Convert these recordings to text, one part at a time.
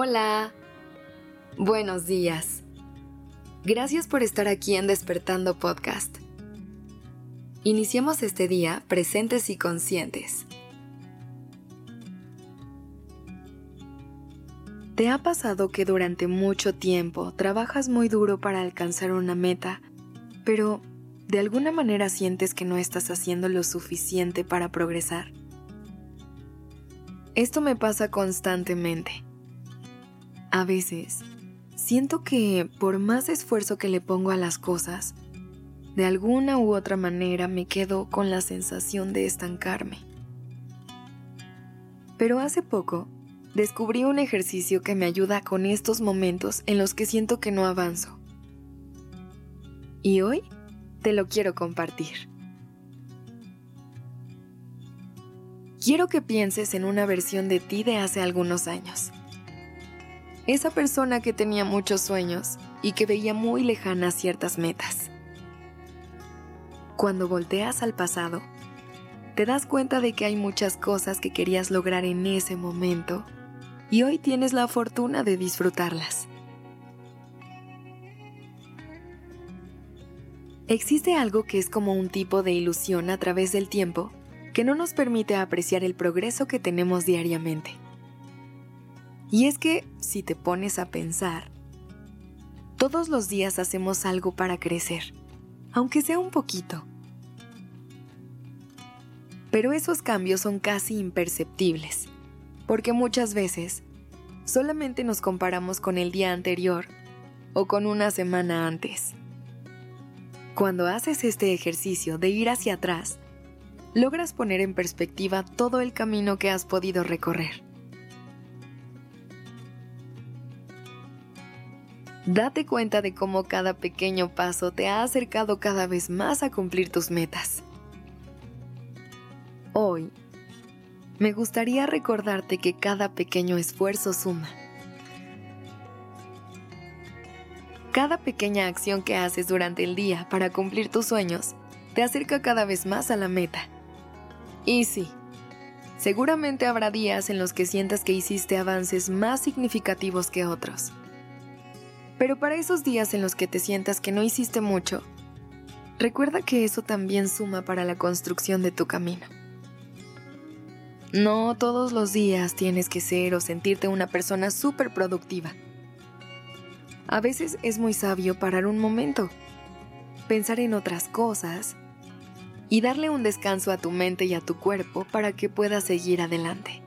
Hola, buenos días. Gracias por estar aquí en Despertando Podcast. Iniciemos este día presentes y conscientes. ¿Te ha pasado que durante mucho tiempo trabajas muy duro para alcanzar una meta, pero de alguna manera sientes que no estás haciendo lo suficiente para progresar? Esto me pasa constantemente. A veces, siento que por más esfuerzo que le pongo a las cosas, de alguna u otra manera me quedo con la sensación de estancarme. Pero hace poco, descubrí un ejercicio que me ayuda con estos momentos en los que siento que no avanzo. Y hoy te lo quiero compartir. Quiero que pienses en una versión de ti de hace algunos años. Esa persona que tenía muchos sueños y que veía muy lejanas ciertas metas. Cuando volteas al pasado, te das cuenta de que hay muchas cosas que querías lograr en ese momento y hoy tienes la fortuna de disfrutarlas. Existe algo que es como un tipo de ilusión a través del tiempo que no nos permite apreciar el progreso que tenemos diariamente. Y es que, si te pones a pensar, todos los días hacemos algo para crecer, aunque sea un poquito. Pero esos cambios son casi imperceptibles, porque muchas veces solamente nos comparamos con el día anterior o con una semana antes. Cuando haces este ejercicio de ir hacia atrás, logras poner en perspectiva todo el camino que has podido recorrer. Date cuenta de cómo cada pequeño paso te ha acercado cada vez más a cumplir tus metas. Hoy, me gustaría recordarte que cada pequeño esfuerzo suma. Cada pequeña acción que haces durante el día para cumplir tus sueños te acerca cada vez más a la meta. Y sí, seguramente habrá días en los que sientas que hiciste avances más significativos que otros. Pero para esos días en los que te sientas que no hiciste mucho, recuerda que eso también suma para la construcción de tu camino. No todos los días tienes que ser o sentirte una persona súper productiva. A veces es muy sabio parar un momento, pensar en otras cosas y darle un descanso a tu mente y a tu cuerpo para que puedas seguir adelante.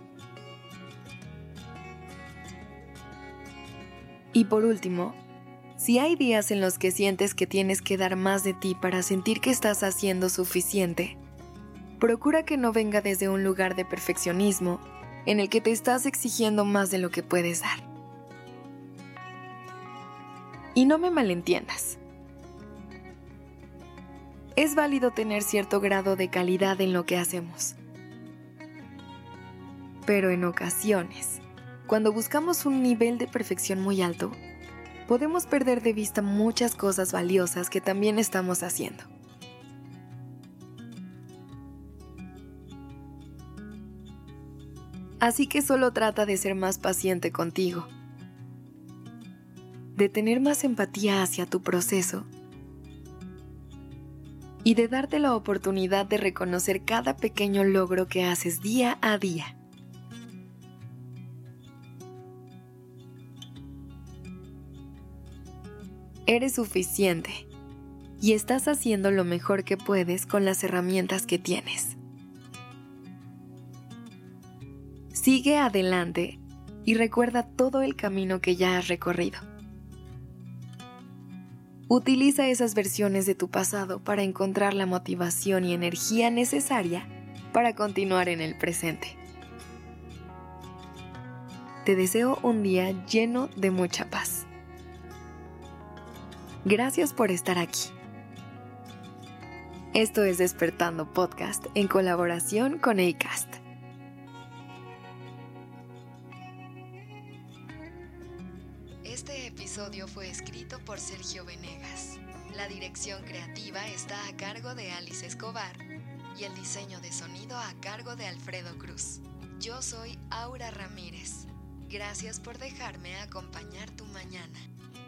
Y por último, si hay días en los que sientes que tienes que dar más de ti para sentir que estás haciendo suficiente, procura que no venga desde un lugar de perfeccionismo en el que te estás exigiendo más de lo que puedes dar. Y no me malentiendas. Es válido tener cierto grado de calidad en lo que hacemos. Pero en ocasiones, cuando buscamos un nivel de perfección muy alto, podemos perder de vista muchas cosas valiosas que también estamos haciendo. Así que solo trata de ser más paciente contigo, de tener más empatía hacia tu proceso y de darte la oportunidad de reconocer cada pequeño logro que haces día a día. Eres suficiente y estás haciendo lo mejor que puedes con las herramientas que tienes. Sigue adelante y recuerda todo el camino que ya has recorrido. Utiliza esas versiones de tu pasado para encontrar la motivación y energía necesaria para continuar en el presente. Te deseo un día lleno de mucha paz. Gracias por estar aquí. Esto es Despertando Podcast en colaboración con Acast. Este episodio fue escrito por Sergio Venegas. La dirección creativa está a cargo de Alice Escobar y el diseño de sonido a cargo de Alfredo Cruz. Yo soy Aura Ramírez. Gracias por dejarme acompañar tu mañana.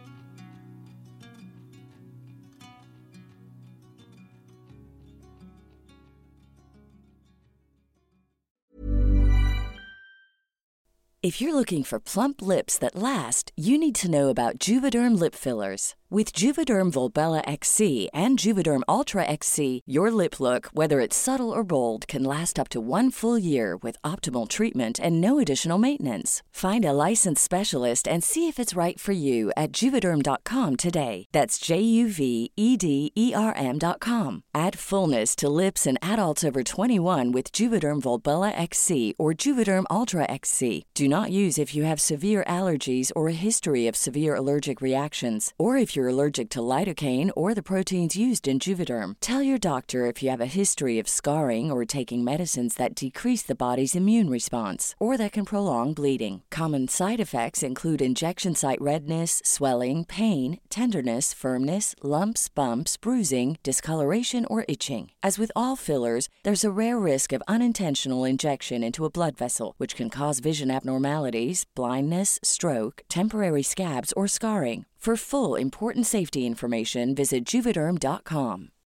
If you're looking for plump lips that last, you need to know about Juvederm lip fillers. With Juvederm Volbella XC and Juvederm Ultra XC, your lip look, whether it's subtle or bold, can last up to 1 full year with optimal treatment and no additional maintenance. Find a licensed specialist and see if it's right for you at Juvederm.com today. That's JUVEDERM.com. Add fullness to lips in adults over 21 with Juvederm Volbella XC or Juvederm Ultra XC. Do not use if you have severe allergies or a history of severe allergic reactions, or if you're allergic to lidocaine or the proteins used in Juvederm. Tell your doctor if you have a history of scarring or taking medicines that decrease the body's immune response or that can prolong bleeding. Common side effects include injection site redness, swelling, pain, tenderness, firmness, lumps, bumps, bruising, discoloration, or itching. As with all fillers, there's a rare risk of unintentional injection into a blood vessel, which can cause vision abnormalities, blindness, stroke, temporary scabs, or scarring. For full, important safety information, visit Juvederm.com.